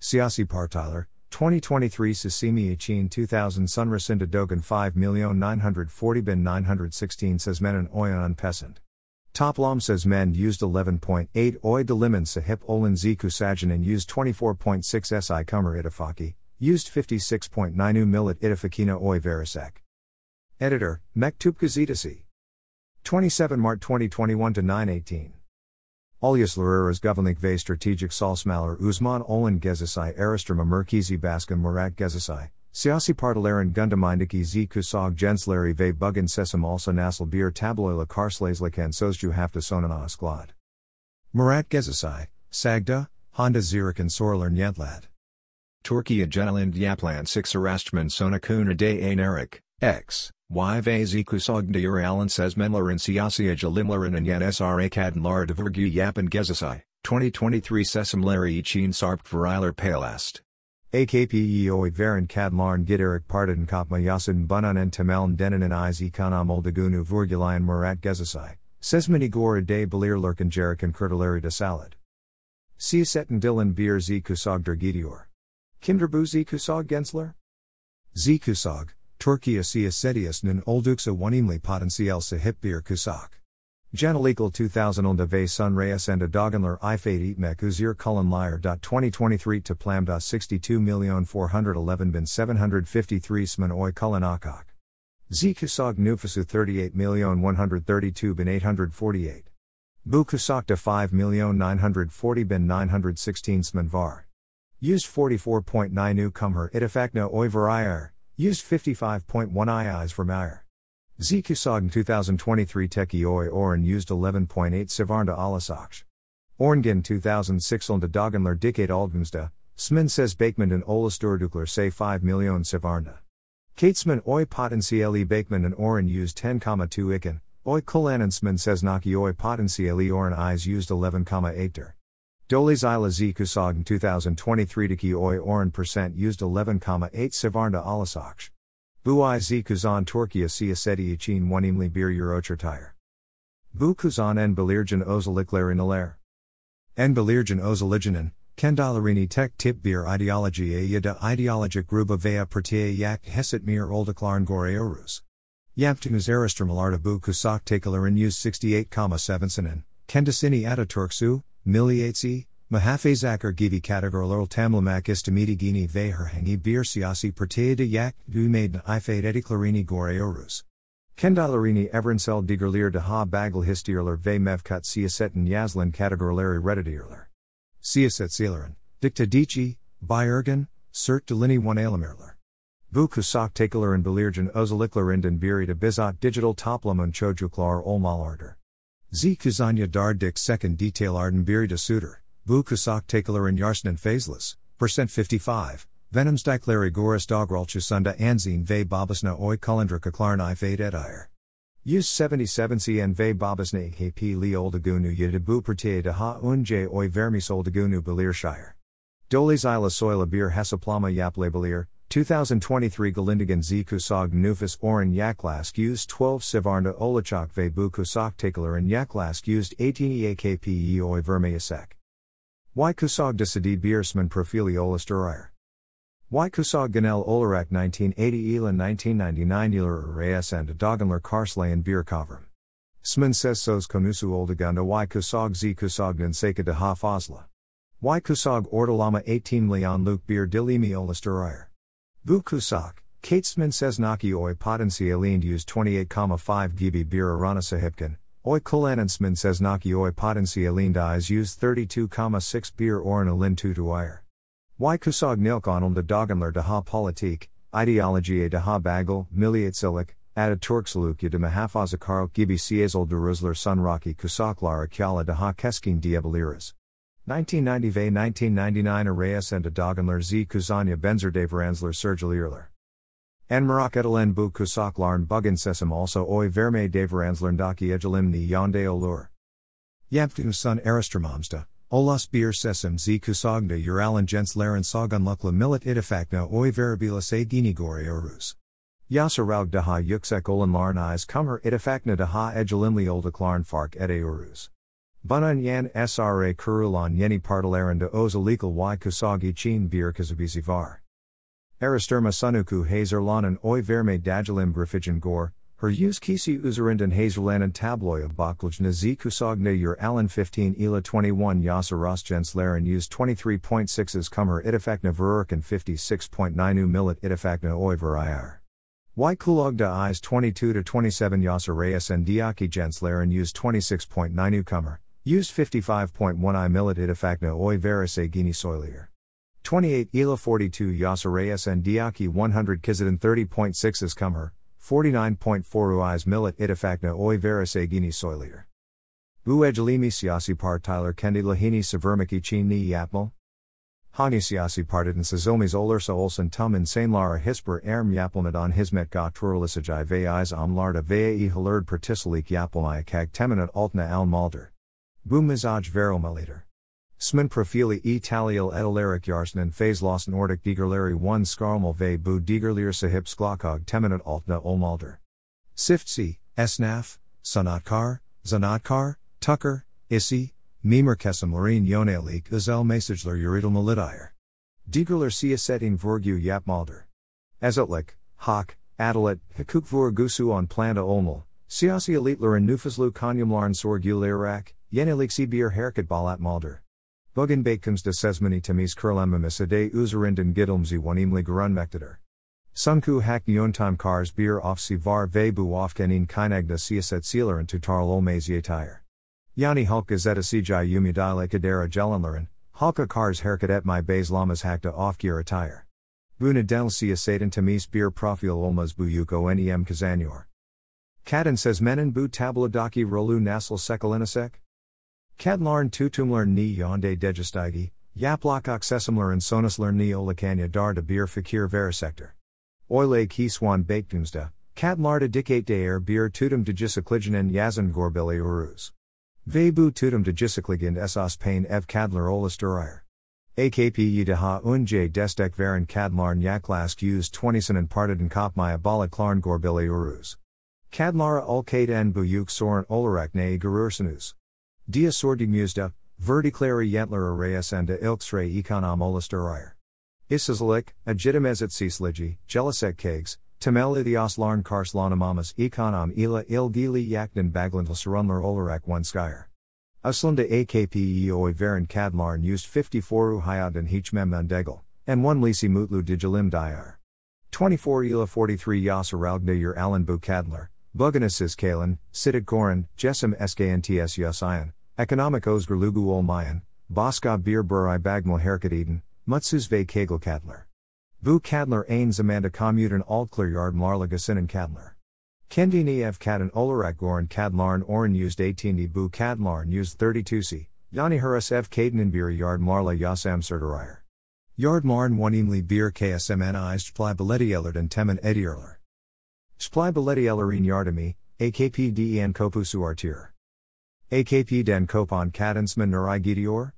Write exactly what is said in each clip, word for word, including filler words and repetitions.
Siasi Partiler, twenty twenty-three Sisimi Ichin two thousand Sunrasinda Dogan five million nine hundred forty bin nine hundred sixteen says men and oyan unpesant. Toplam says men used eleven point eight oi deliman sahip olin ziku sajanin used twenty-four point six si kumar itafaki, used fifty-six point nine u millet itafakina oi verisek. Editor, Mektup Gazitasi. twenty-seven March twenty twenty-one to nine eighteen. Olyas Lureras Governik ve Strategic Salsmaler Uzman Olin Gezisai Aristrama Merkizi Baskan Murat Gezisai, Siasi Partilerin Gundamindiki z Kusog Gensleri ve Bugin Sesam also Nasal Bir Tabloila Karslazlikan Sozju Hafta Sonana Asklad. Murat Gezisai, Sagda, Honda Zirikan Sorler Nyetlad. Turkiya Genelind Yaplan six Arastman Sonakuna de Anerik, X. Y ve Kusog de Uralan says Menlerin Siasia Jalimlerin and Yan Sra Kadin Lara de Vergu Yapan Gezisai, twenty twenty-three Sesam Leri Ichin Sarpt Veriler Palast. A K P E oi Varen Kadlarn Giderik Partidin Kopma Yasin Bunan and Tameln Denin and Iz Ekonam Oldagunu Vurgulayan Murat Gezisai, says Minigora de Belir Lurkan Jerikan Kurtaleri de Salad. Siasetin Dilan Bir Z Kusog der Gidior. Kinderbu Z Kusog Gensler? Z Kusog. Turkiya Siyasetius nun olduksa wanimli potansiyel sahip bir kusak. Janalegal two thousand onda ve sun reyes and a doganler ifade etmek uzir kulon liar. twenty twenty-three to plam. sixty-two million four hundred eleven bin seven hundred fifty-three sman oi kulon akak. Z kusag nufasu thirty-eight million one hundred thirty-two bin eight hundred forty-eight. Bu kusak de five million nine hundred forty bin nine hundred sixteen sman var. Used forty-four point nine u kumher itafakna oi varayar. Used fifty-five point one iis for Meyer. Z Kusogn twenty twenty-three Teki Oi Oren used eleven point eight Sivarnda Alasaksh. Orngin two thousand six Olnda Dagenler Dikate Aldgumsda, Smin says Bakeman and Olasturdukler say five million Sivarnda. Katesman Oi Potentiele Bakeman and Oren used ten point two Iken, Oi Kulanansman says Naki Oi Potentiele Oren Eyes used eleven point eight der. Dolis Ila Z Kusogn twenty twenty-three Diki Oi Oren percent used eleven point eight Sivarnda Alasaksh. Bu I Z Kuzan Turkiya Siyaseti Için Wanimli Bir Eurochertire. Bu Kuzan en Belirjan Ozaliklerin Aler. En Belirjan Ozalijanen, Kendalarini Tek Tip Bir Ideology A Yada Ideologic Gruba Vea Pertia Yak Hesit Mir Oldaklarn Gore Orus. Yaptunuz Aristramalarda Bu Kusak Takalarin used sixty-eight point seven Sanin, Kendasini Ataturksu, Miliatsi, Mahafezakar Givi Kategorlurl Tamlamak Istamidi Gini Veherhangi Bir Siasi Pertea de Yak, Du Maiden Ifade Ediklarini Gore Orus. Kendalarini Everansel Digerlir de Ha Bagel Histierler Ve Mevkat Siasetin Yazlin Kategorleri Redditierler. Siaset Seelerin, Dicta Dici, Bayergen, Cert Delini one Alamirler. Bu Kusak Takalarin Belirjan Ozaliklerindin Biri de Bizot Digital Toplamun Chojuklar Olmalarder. Z Kuzanya Dardik second detail Arden Biri de Suter, Bu Kusak Takalarin Yarsnan Fazeless, percent fifty-five, Venoms Dikleri Goris Dogralchusunda Anzine Ve Babasna Oi Kulendra Kaklarn Ifade Edire. Use seventy-seven cn Ve Babasna Kp Li Oldagunu Yedibu Pertea de Ha Unj Oi Vermis Oldagunu Belirshire. Dolis Ila Soila Bir Hasaplama Yap Labelir, twenty twenty-three Galindigan Z Kusog Nufus Oren Yaklask used twelve Sivarnda Olachak Ve Bu Kusak Takalarin Yaklask used eighteen Eakpe Oi Vermeasek. Y Kusog Disadi Biersman Profili Olasturir. Y Kusog Ganel Olarak nineteen eighty Elan nineteen ninety-nine Eler Reyes and Doganler Karslayan Bir Kavram. Smin says Sos Konusu Oldagunda Y Kusog Z Kusognan Seka de Ha Fosla. Y Kusog Ordalama eighteen Leon Luke Bir Dilimi Olasturir. Bu Kusak, Katesman says Naki Oi Potentialind used twenty-eight point five Gibi Bir Arana Sahipkan. Oi Kulanansman says Naki Oi Potentialind Eyes used thirty-two point six Bir Oran Alin Tutuire. Y Kusog Nilkonum de Doganler de Ha Politik, Ideologie de Ha Bagel, Miliatsilik, Ataturksalukya de Mahafazakaro Gibi Siazol de Rusler Sunrocky Kusaklar Akyala de Ha Keskin Diabaliras. nineteen ninety ve nineteen ninety-nine Arayas and a Doganler Z Kuzanya Benzer Deveransler Sergelierler. En Marak Edelen Bu Kusaklarn Bugin Sesam also Oi Verme Deveransler Daki Egelimni Yonde Olur. Yaptu Sun Aristramamsta, Olas Bir Sesam Z Kusogda Uralan Genslaren Sogunlukla Milit Itifakna Oi Verabila Se Ginigori Orus. Yasaraug Daha Yuksek Olan Larn Eyes Kummer Itifakna Daha Egelimli Oldaklarn Fark Ede Orus. Bunan yan sra kurulan yeni partilerinde özellikle y kusagi chin bir kazabizi var. Araştırma sunuku hazırlanan oy verme dajalim grafigen gor, her yüz kisi üzerinden hazırlanan tabloya baklıcına z kusagna yer alan fifteen ila twenty-one yasa rastgenslerin yüz twenty-three point sixes kumher itifakna verirken fifty-six point nine millet itifakna oy veriyar. Y kulogda is twenty-two to twenty-seven yasa reyes and diaki genslerin yüz twenty-six point nine kumher, used fifty-five point one I millet itifakna oy verise gini soilier. twenty-eight ila forty-two yasa reyes and diaki one hundred kizidin thirty point sixes kumher, forty-nine point four uis millet itifakna oy verise gini soilier. Bu ejalimi siyasi partiler kendi lahini severmiki chin ni yapmal? Hani siyasi partiden sezilmis olursa olsun tum insanlara hisper erm yapılmadan hizmet götürülecek ve iz amlarda veya ihilerd partisilik yapılmayacak teminat altına almaldır. Bu mizaj verilmelidir. Smin profili İtalyalı edilerek yarsının fazlasın ortak digerleri one skarmal ve bu digerler sahip sklakog teminat altına olmaldır. Siftsi, esnaf, sanatkar, zanatkar, tucker, isi, mimer kesimlerin yönelik özel mesajlar üretilmelidir. Digerler siyasetin vurgu yapmaldır. Ezetlik, hak, adalet, hukuk vurgusu on planda olmal, siyasi elitlerin nüfuslu konumların sorgulayarak, yeniliksi bir hareket balatmaldır. Bugün bakımızda sezmini temiz kurulamaması de üzerinden gidilmesi önemli görünmektedir. Sunku hak yöntem kars bir ofsi var ve bu ofkenin kaynakda siyasetçilerin tutarlı olmaz yeter. Yani halk gazetesici umuduyla kadar gelenlerin, halka kars hareket etmeye bazılamaz hakta ofgir atayır. Bu nedeniyle siyasetin temiz bir profil olmaz bu yük önem kazanıyor. Kadın sezmenin bu tablodaki rolü nasıl şekillenesek? Kadınların tutumlarını yönde değiştirdiği, yapılacak seçimlerin sonuçlarını olakanya dar bir fikir verecektir. Öyle ki swan baktığımızda, kadınlarda dikkat değer bir tutum değişikliğinin yazın görebiliyoruz. Ve bu tutum değişikliğin esas pain ev kadınlar oluşturur. A K P'yi daha önce destek veren kadınların yaklaşık yüz twenty'sinin partiden kopmaya bağladıklarını görebiliyoruz. Kadınlara ülkeden bu yük sorun olarak neyi görürsünüz? Dia sorduğumuzda, verdikleri yentler arasında ilksre ekonom oluşturur. İşsizlik, acitimezetsizliği, gelecek kegs, temel ihtiyaçların karşılanamaması ekonom ile ilgili yakın bağlantılı sorunlar olarak vanskayır. Aslında A K P'yi oy veren kadınların yüz fifty-four'u hayatın hiç memnun değil, en one lisi mutlu dijilim diyar. twenty-four ila forty-three yasa ralgda alan bu kadınlar, bugünesiz kalan, sidik goran, jessim sknts yusayan, ekonomik özgürlüğü olmayan, başka bir buray bagmal hareket eden, mutsuz ve kegel kadınlar. Bu kadınlar aynı zamanda komuten altlar yardımlarla geçinen kadınlar. Kendini ev kadın olarak gören kadınların oran yüzde eighteen'i bu kadınların yüzde thirty-two'si, yani hıras ev kadının bir yardımlarla yasam sürdürür. Yardımların önemli bir ksmni splybiletiyelerden temin ediyorlar. Splybiletielerin yardımı, A K P den kopusu artır. A K P den kopan kadınsman nereye gidiyor?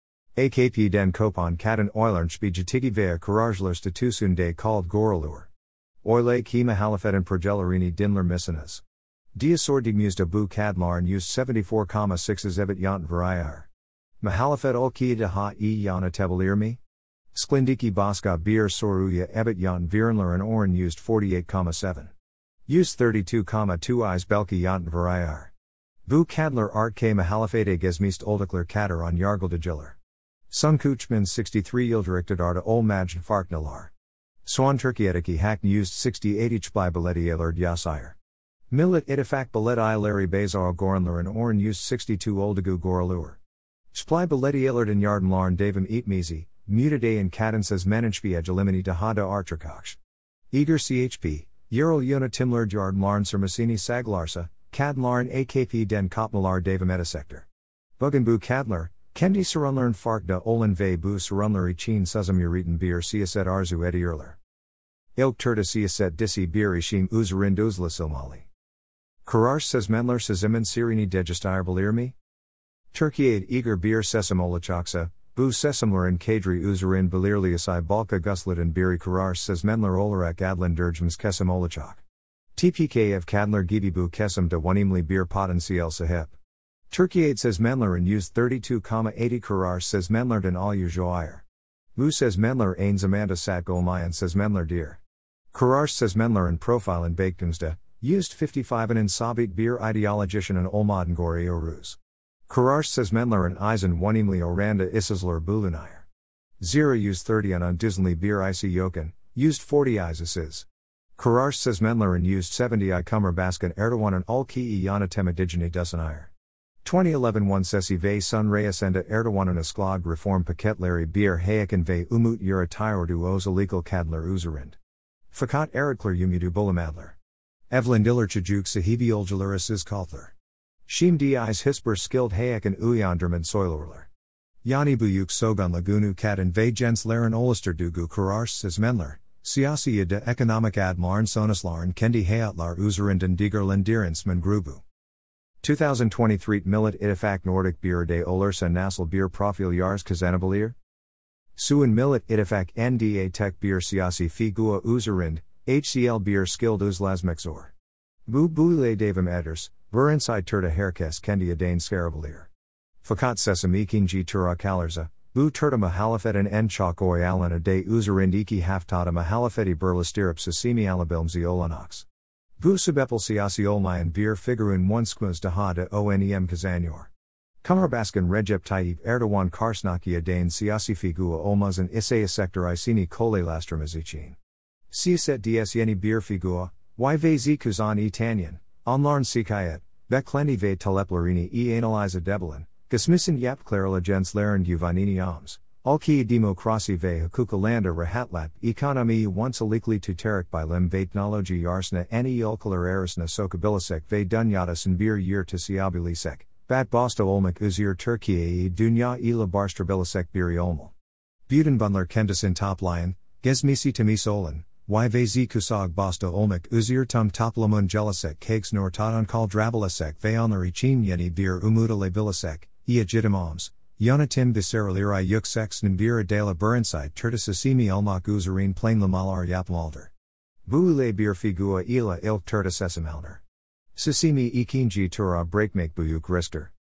A K P den kopan kadın oylarınçbi jatigi veya kararjlar statüsünde kald görülür. Öyle ki muhalefetin projelerini dinler misiniz. Dia sorduğumuzda bu kadınların yüz seventy-four point six'es evet yant veriyar. Muhalefet ülkeye daha iyi yönetebilir mi? Sklindiki başka bir soruya evet yant verenlerin oran yüzde forty-eight point seven. Yüzde thirty-two point two is belki yant veriyar. Bu kadınlar artke muhalefete gezmist olduklar kadar on yargıldacılar. Sun Kuchman sixty-three yıldırıktadarda olmacın farknalar. Soğan Türkiye'deki hak yüzde sixty-eight splybiletiyeler yasayır. Millet itifak biletiyeleri bazar goranların oran yüzde sixty-two oldugu görülür. Splybiletiyelerden yardımların devam etmezi, mütedeyên kadın sezmenençbi egelimini daha da artırkakş. Eager C H P, yerel yönetimler yardımların sürmesini saglarsa, kadınların A K P den kopmalar devam edesektir. Bugün bu kadınlar, kendi sorunların farkda olan ve bu sorunları için sözüm üreten bir siyaset arzu ediyorlar. İlk turda siyaset disi bir işim üzerinde uzlaşılmalı. Karar sezmenler sezimin sirini değiştirebilir mi? Türkiye'de eager bir sesim olacaksa, bu sesimlerin kadri üzerinde belirleyesi balka gusladın biri karar sezmenler olarak adlandırmamız kesim olacak. T P K ev kadınlar gibi bu kesim de önemli bir potansiyel sahip. Turkey says Menlerin used thirty-two comma eighty Karar says Menlerden al Joair. Vu says Menler ein Zamanda sat Golmayan says Menler dear. Karar says Menlerin profile in Baktumsda, used fifty-five in Sabit bir ideologischen and Olmaden Gori Oruz. Karar says Menlerin Eisen Wanimli Oranda Isisler Bulunayr. Zira used thirty on Disney bir Ic Yoken, used forty Isis. Karar says Menlerin used seventy I Kummer Baskan Erdogan and Ulki Iyana Temidigini Dusanayr. twenty eleven one Sesi ve Sun Reyasenda Erdogan and Asklag Reform Paketleri bir Hayakan ve Umut Yura Tyordu Ozalegal Kadler Uzerind. Fakat Erekler Umudu Bulamadler. Evelyn Diller Chajuk Sahibi Oljalur Is Kalther. Shim Di's Hisper Skilled Hayakan Uyanderman Soilurler. Yani Buyuk Sogun Lagunu Kat and ve Jens Laren Olister Dugu Karars says Menler. Siasi de Economic Admarn Sonaslaren Kendi Hayatlar Uzerind and Digerlandirensman Grubu. twenty twenty-three Millet Itifak Nordic Bier de Olersa Nassel Bier Profil Jars Kazanabalier? Suin Millet Itifak N D A Tech Bier Siasi Figua Uzerind, H C L Bier Skilled Uzlasmexor. Bu Bule Davim Eders, Ver Inside Turta Herkes Kendi Dane Scarabalier. Fakat Sesame Kinji Tura Kalerza, Bu Turta Mahalafet and En Chakoi Alana de Uzerind Iki Haftata Mahalafeti Burlastirip Sasimi Alabilmzi Olanox. Bu Subepel Siasi Olmayan Bir Figurun one Skmuz Daha de Onem Kazanyor. Kumarbaskan Recep Tayyip Erdogan Karsnakia Dane Siasi Figua Olmaz and Isaya Sector Isini Kole Lastramazichin. Siaset Ds Yeni Bir Figua, Yvz Kuzan E Tanyan, Onlarn Sikayet, Bekleni ve Taleplerini E Analyza Debelin, Gasmissen Yap Clarila Jens Laren Guvanini Oms. Alki Demokrasi ve Hukukalanda Rahatlat Ekonomi once alikli tuterik by Lim Vatnology Yarsna Ani Ulkalar Erisna Sokabilisek ve Dunyatas Bir Yer Tisiabilisek, Bat Bosta Olmak Uzir Turkiye Dunya ila Barstrabilisek Biri Olmal. Budenbundler Kendasin Top Lion, Gezmisi Tamisolan, Yvz Kusag Bosta Olmak Uzir Tum Toplamun Jelisek Kags Nor Tadon Kal Drabilisek Veonlar Ichin Yeni Bir Umuda Labilisek, Ia Jitimams. Yonatim Visceraliri Yuk Sex Nbira de la Burinside Turtisasimi Elmak Uzarin Plain Lamalar Yapmalder. Buule Bir Figua Ila Ilk Turtisesimalder. Sasimi Ikinji Tura Breakmake Buyuk Rister.